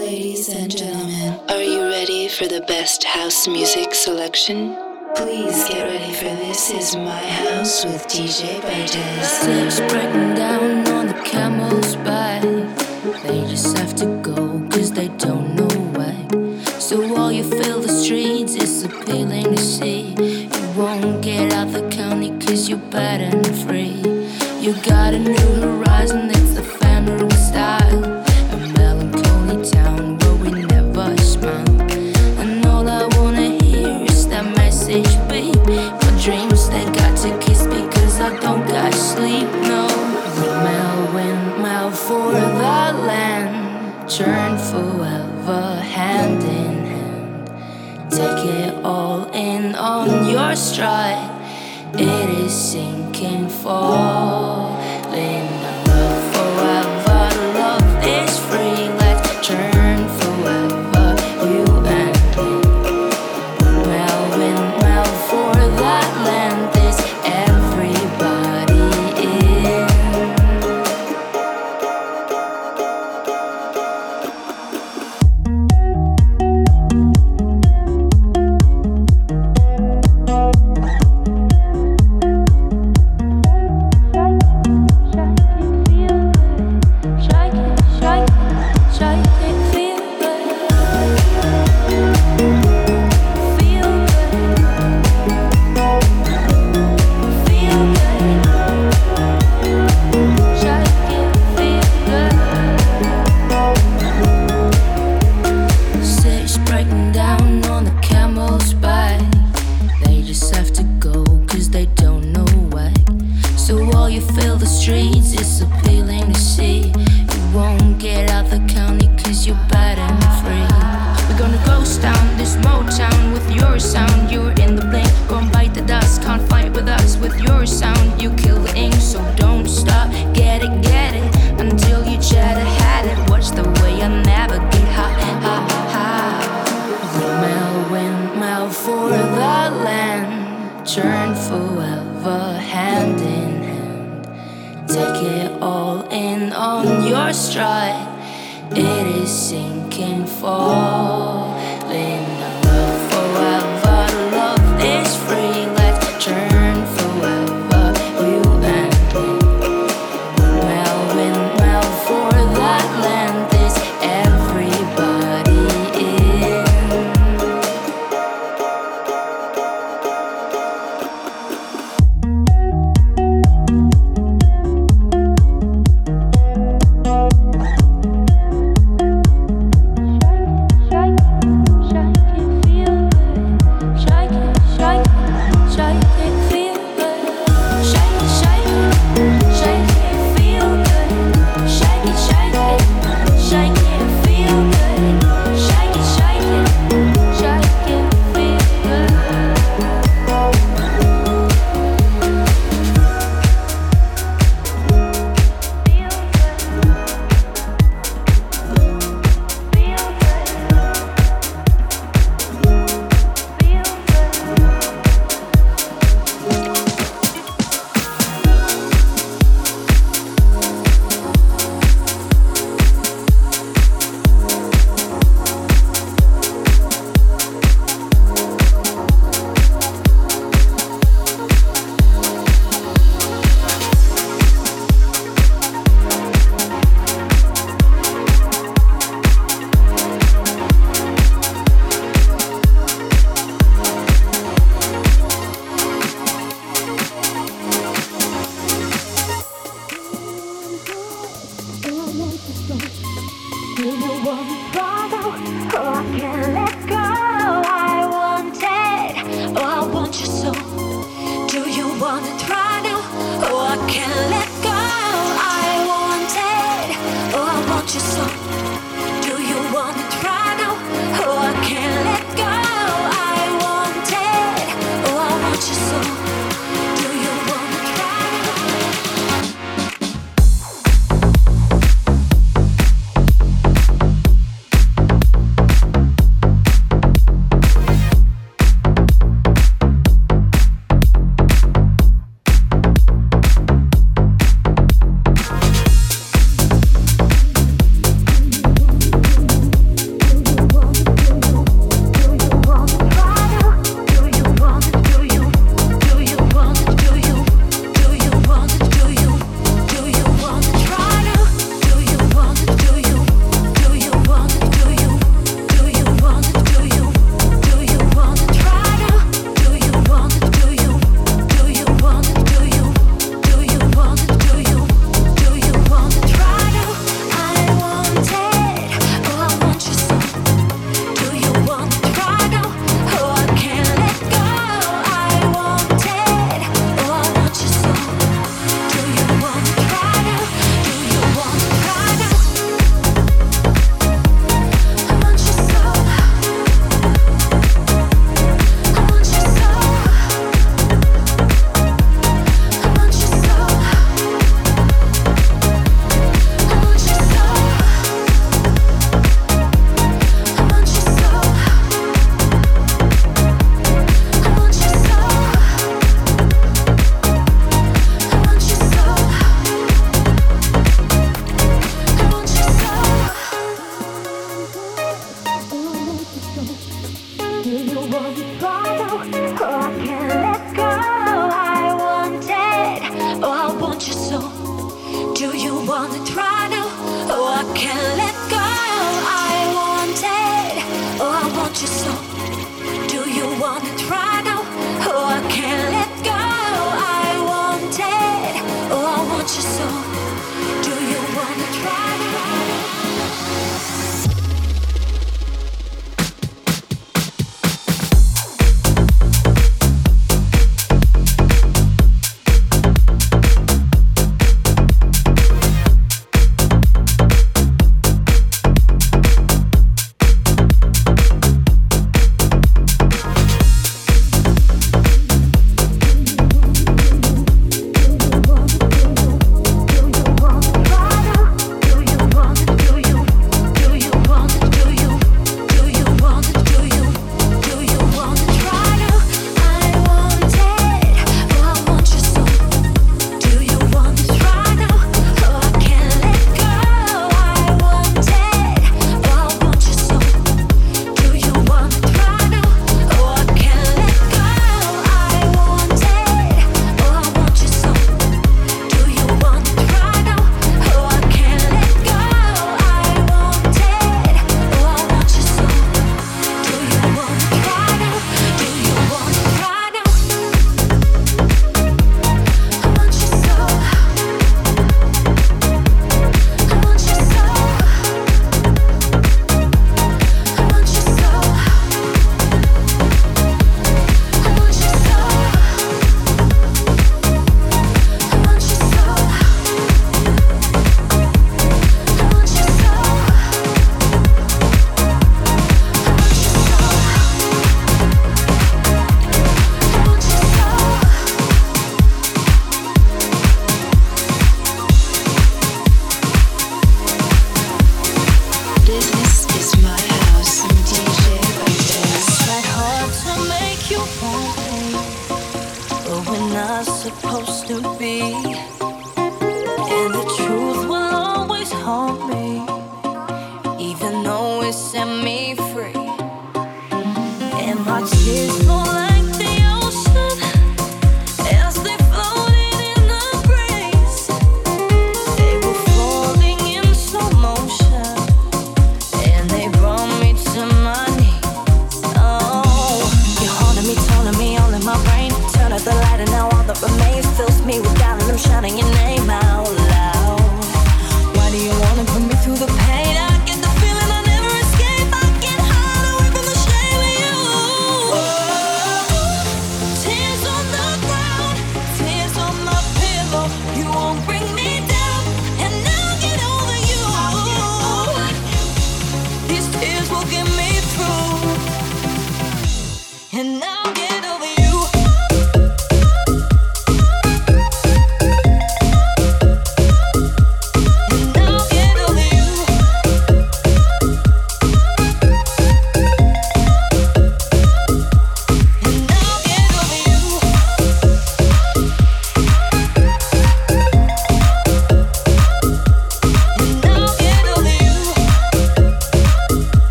Ladies and gentlemen, are you ready for the best house music selection? Please get ready for This Is My House with DJ Bartez. Steps breaking down on the camel's back. They just have to go cause they don't know why. So while you fill the streets, it's appealing to see. You won't get out the county cause you're bad and free. You got a new horizon, it's the family style. A melancholy town where we never smile. And all I wanna hear is that message, babe. My dreams, they got to kiss because I don't got sleep, no. Windmill for the land, turn forever hand in hand. Take it all in on your stride. It is sinking, falling. Love forever, love is free. Let's turn forever, you and me. Windmill for that land. Is everybody in?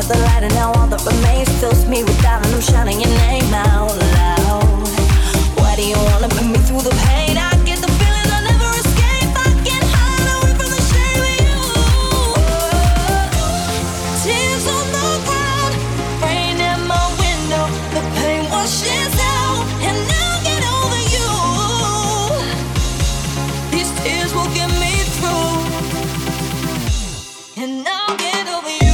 of the light, and now all that remains fills me with doubt, and I'm shouting your name out loud. Why do you wanna put me through the pain? I get the feeling I'll never escape. I can't hide away from the shame of you. Tears on the ground, rain in my window, the pain washes out, and I'll get over you. These tears will get me through, and I'll get over you.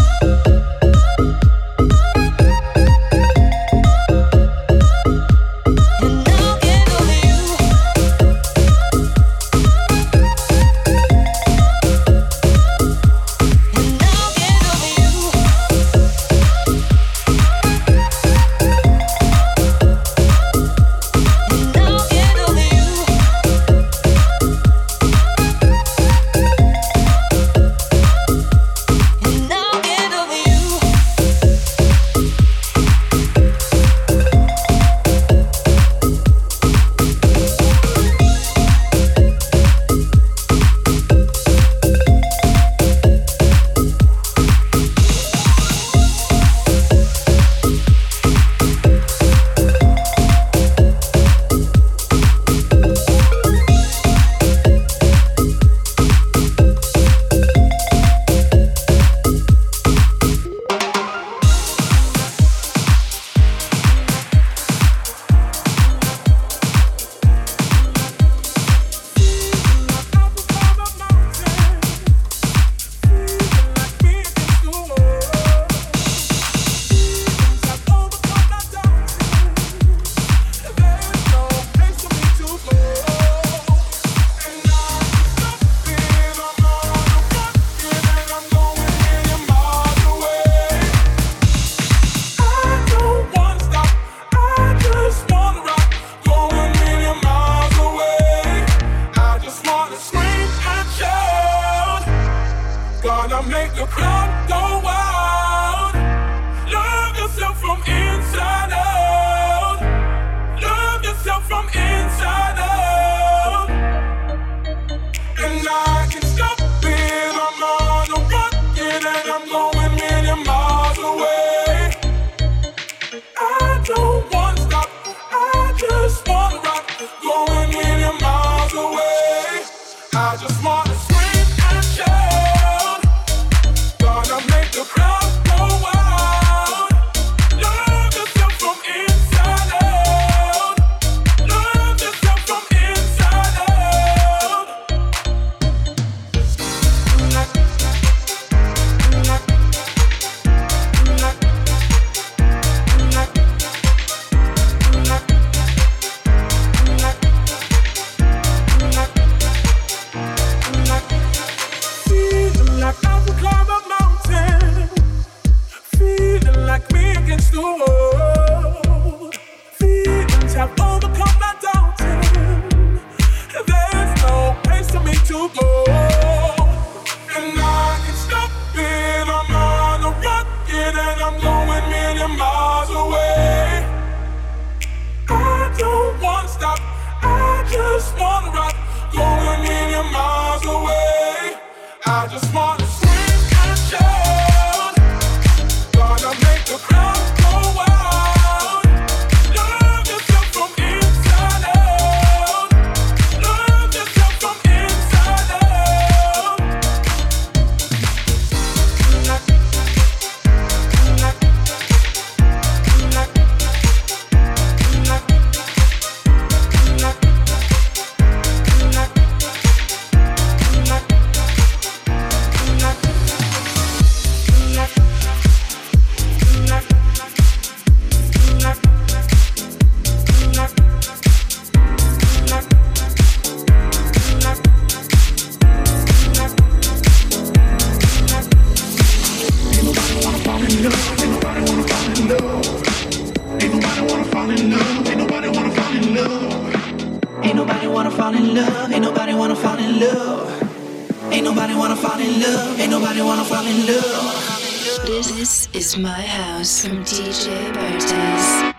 This is my house from DJ Bartez.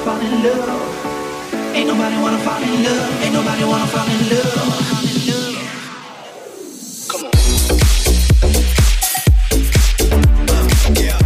fall in love. Ain't nobody wanna fall in love. Ain't nobody wanna fall in love. Come on. Yeah.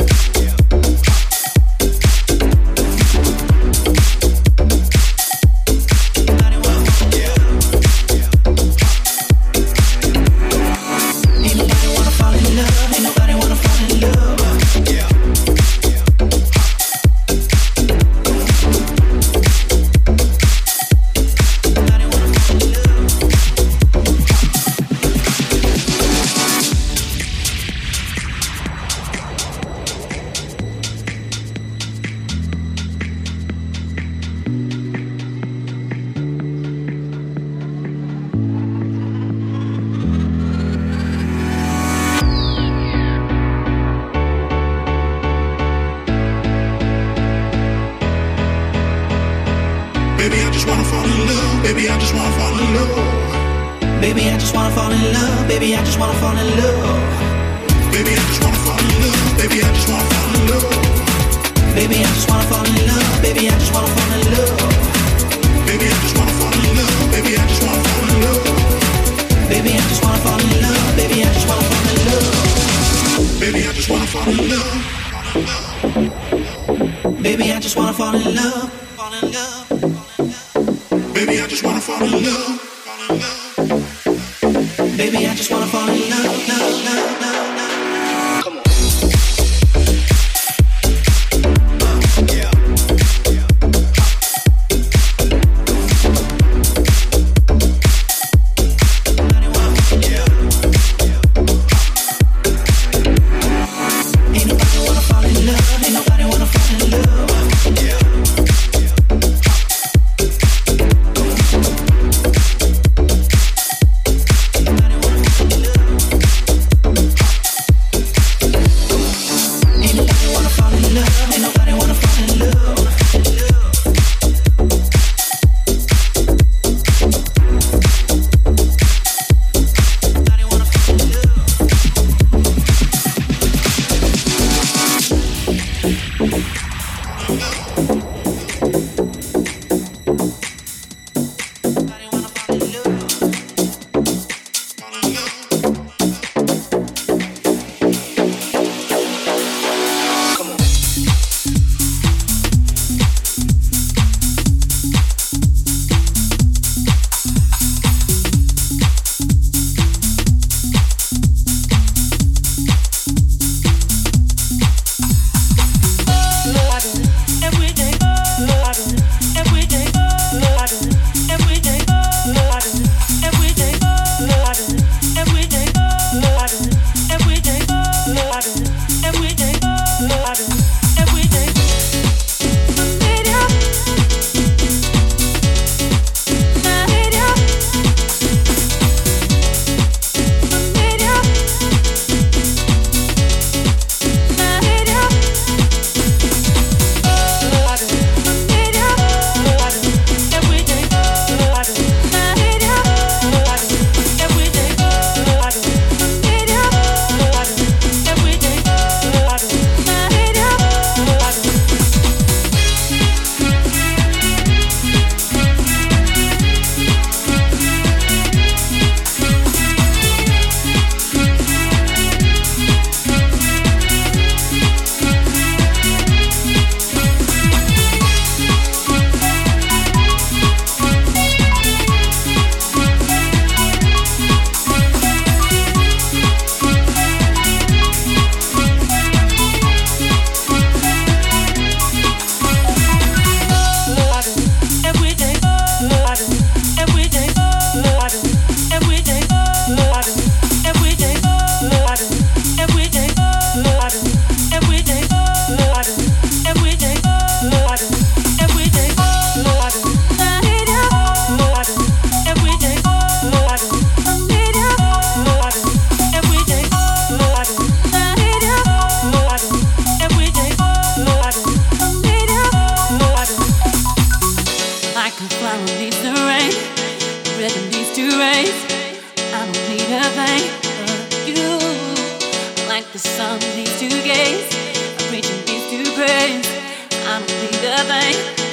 The sun needs to gaze, I'm reaching needs to praise. I don't need a thing.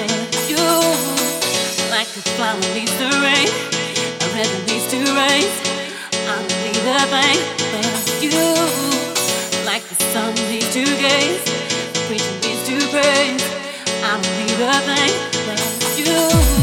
like a flower needs the rain, a river needs to raise. I don't need a thing but you, like the sun needs to gaze, the preacher needs to praise. I don't need a thing but you.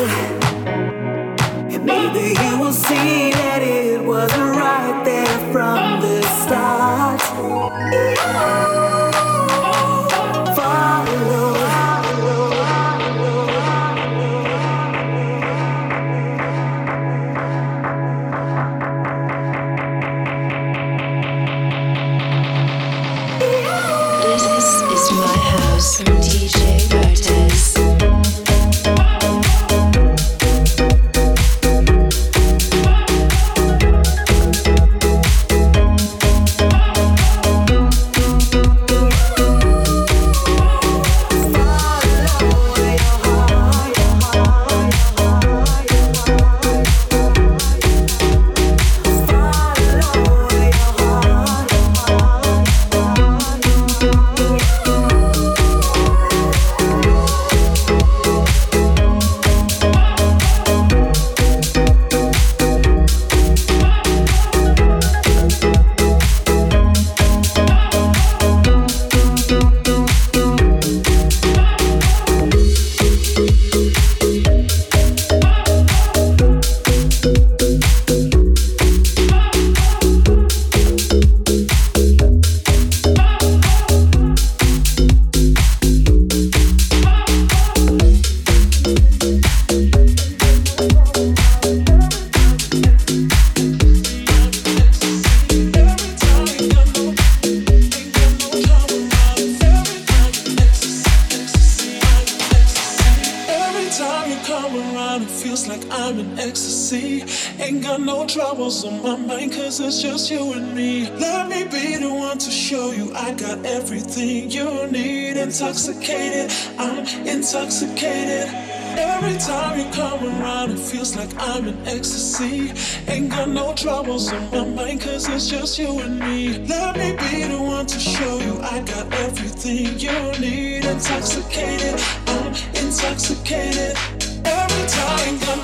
And maybe you will see that it wasn't right there from the start. Follow. This is my house from DJ Bartez. It's just you and me. Let me be the one to show you I got everything you need. Intoxicated, I'm intoxicated. Every time you come around, it feels like I'm in ecstasy. Ain't got no troubles on my mind, cause it's just you and me. Let me be the one to show you I got everything you need. Intoxicated, I'm intoxicated. Every time, ain't got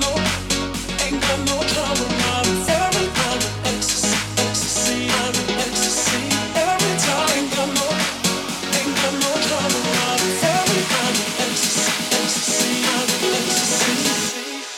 no trouble around. Every time in ecstasy, I'm in ecstasy. Every time, ain't got no trouble around. Every time in ecstasy, I'm in ecstasy.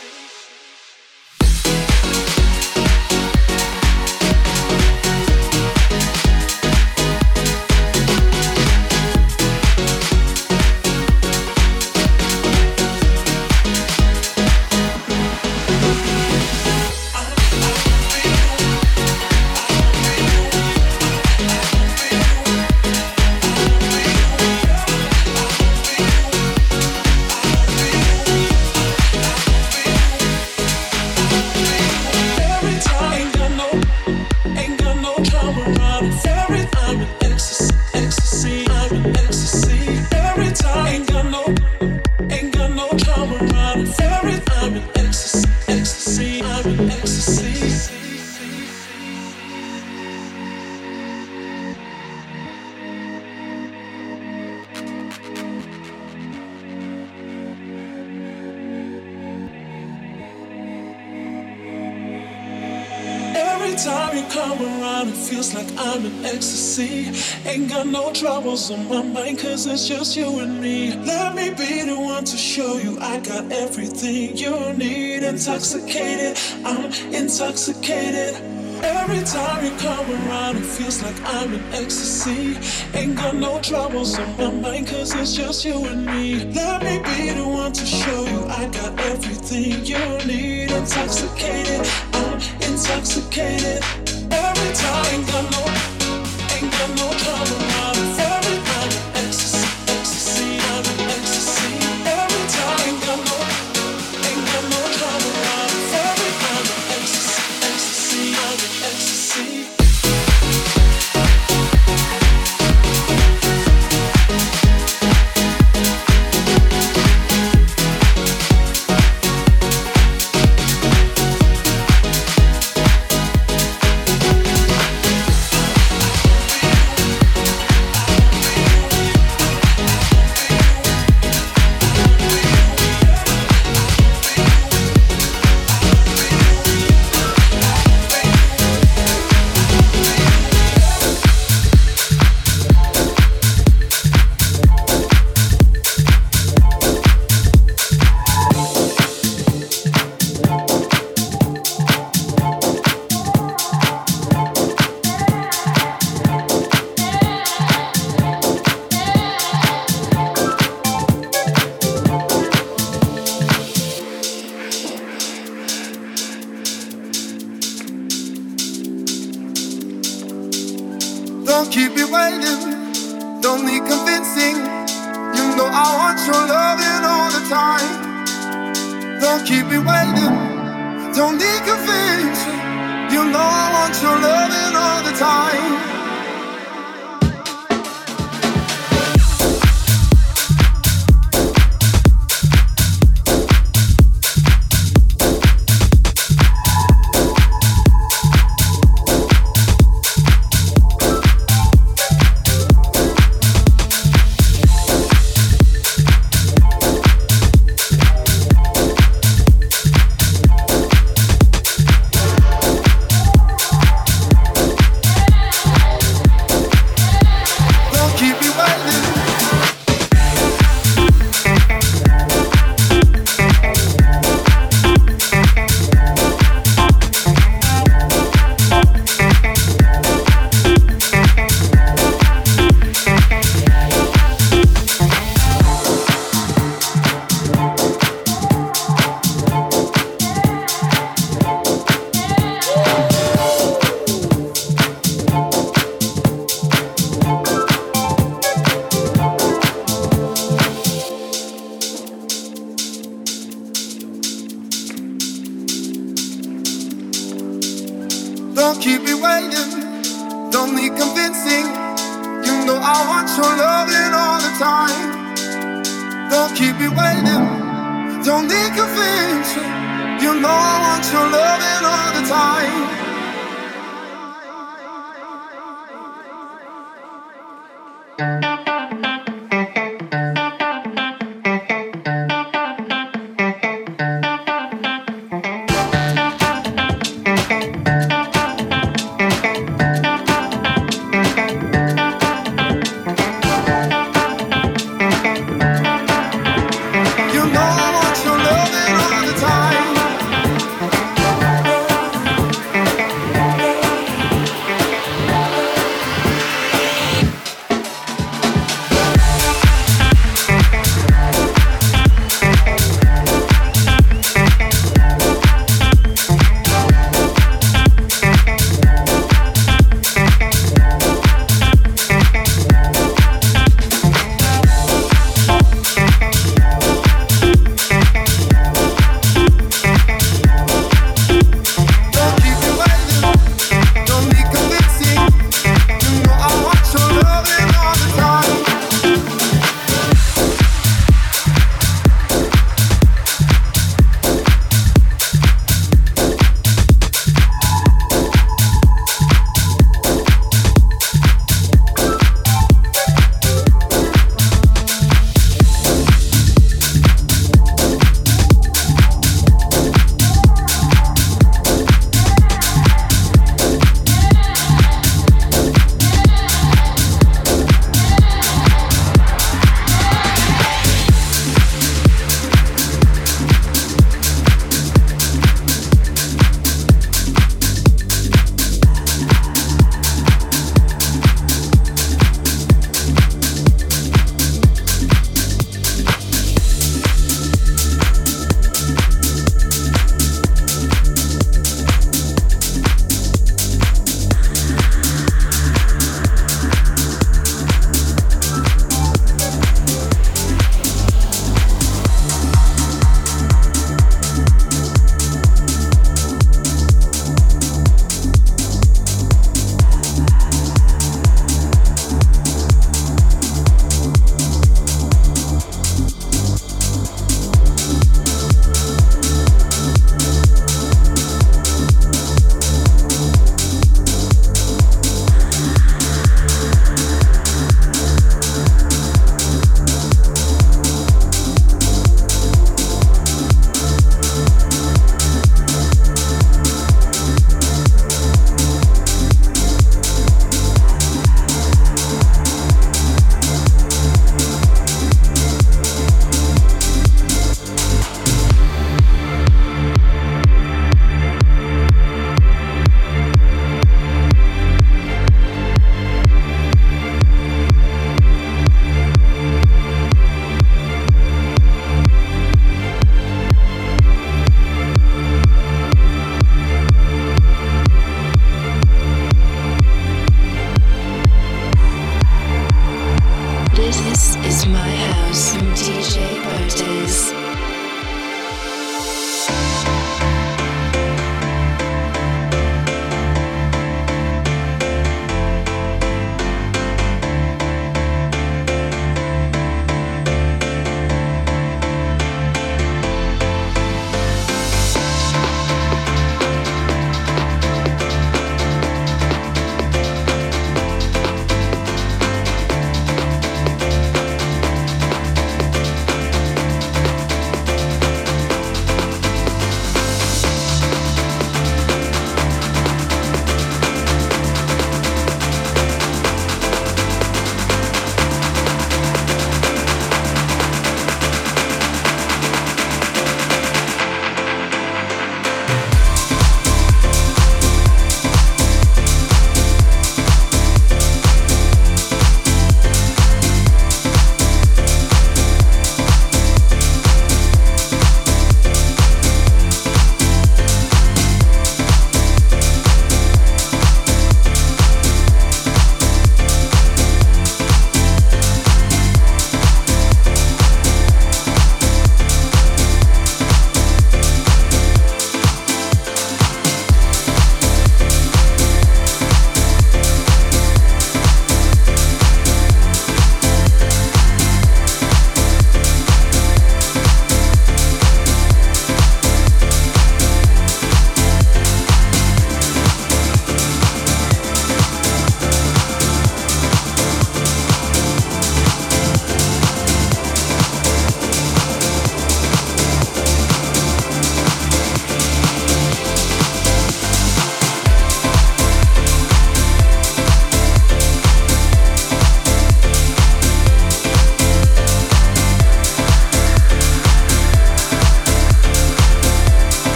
Time you come around, it feels like I'm in ecstasy. Ain't got no troubles on my mind, cause it's just you and me. Let me be the one to show you I got everything you need. Intoxicated, I'm intoxicated. Every time you come around, it feels like I'm in ecstasy. Ain't got no troubles on my mind, cause it's just you and me. Let me be the one to show you I got everything you need. Intoxicated, I'm intoxicated. Every time, ain't got no trouble around. Every time in ecstasy, I'm in ecstasy. Every time, ain't got no trouble around. Every time in ecstasy, I'm in ecstasy. Don't keep me waiting, don't need convincing. You know I want your loving all the time. Don't keep me waiting, don't need convincing. You know I want your loving all the time. Don't keep me waiting, don't need convincing. You know I want your loving all the time. Don't keep me waiting, don't need convincing. You know I want your loving all the time.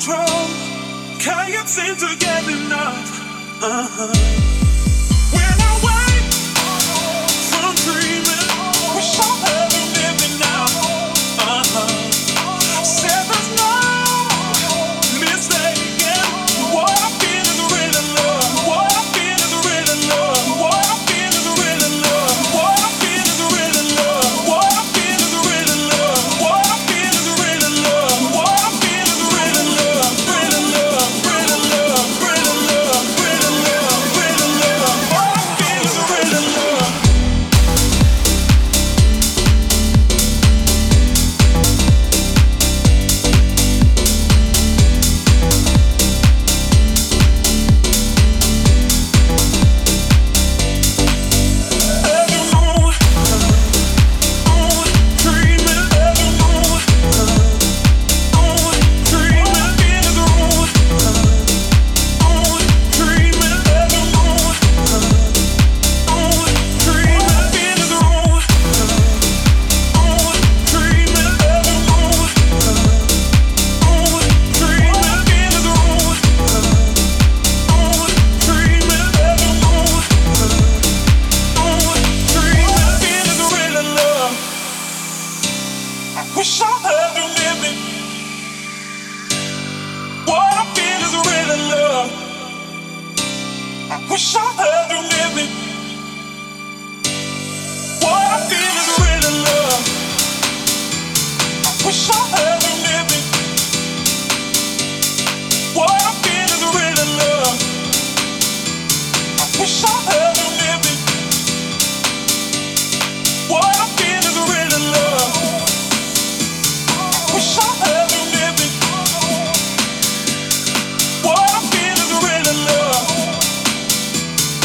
control. Can't seem to get enough. When I wake from dreaming, wish I had you living now. Said there's no mistaking. What I feel is really love. What I feel is really love. What I feel is really love. What I feel is really love. What I feel is really love. What I feel is really love. What I feel is really love. Really love. Really love. Really love. Really love. Really love. What I feel is really love. Wish I had you living. What I feel is really love. Wish I had you living. What I feel is really love. Wish I had you living. What I feel is really love. Wish I had you living. What I feel is really love. Wish I had you living. What I feel is really love.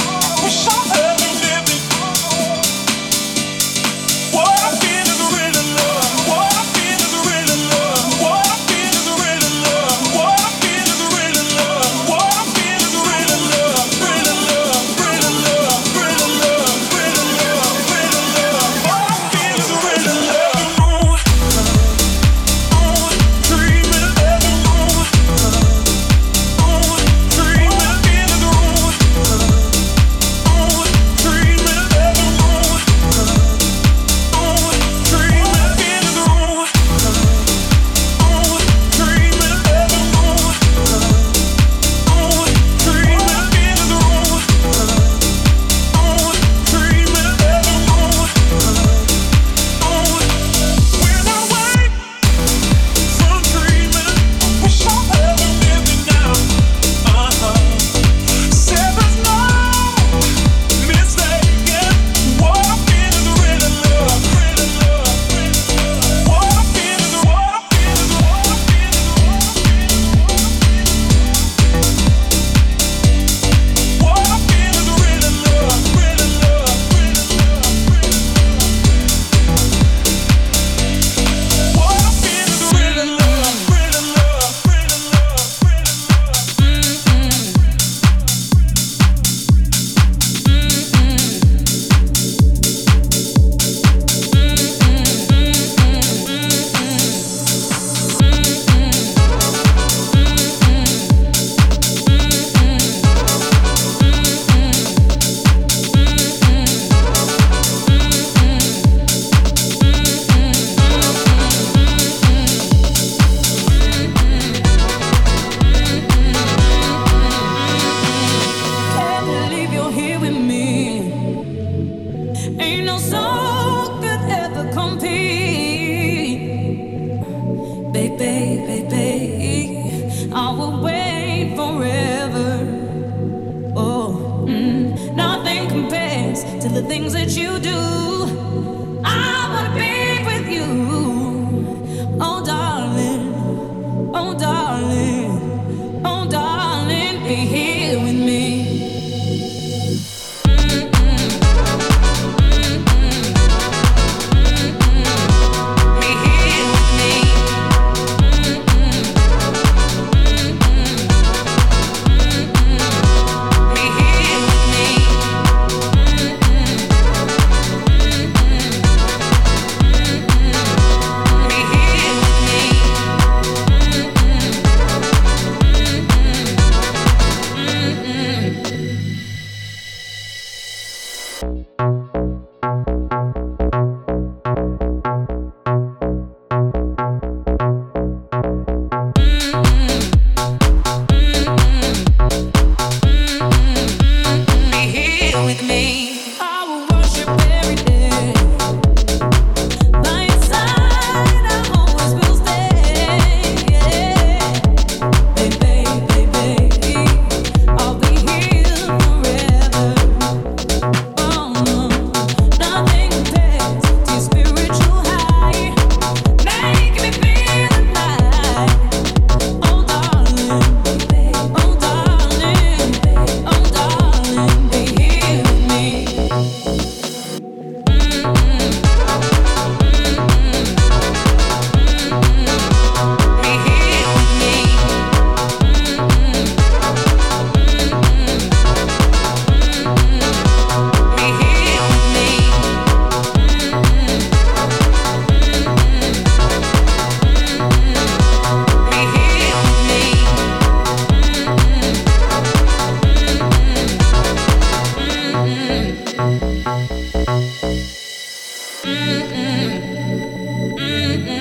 Mm-mm.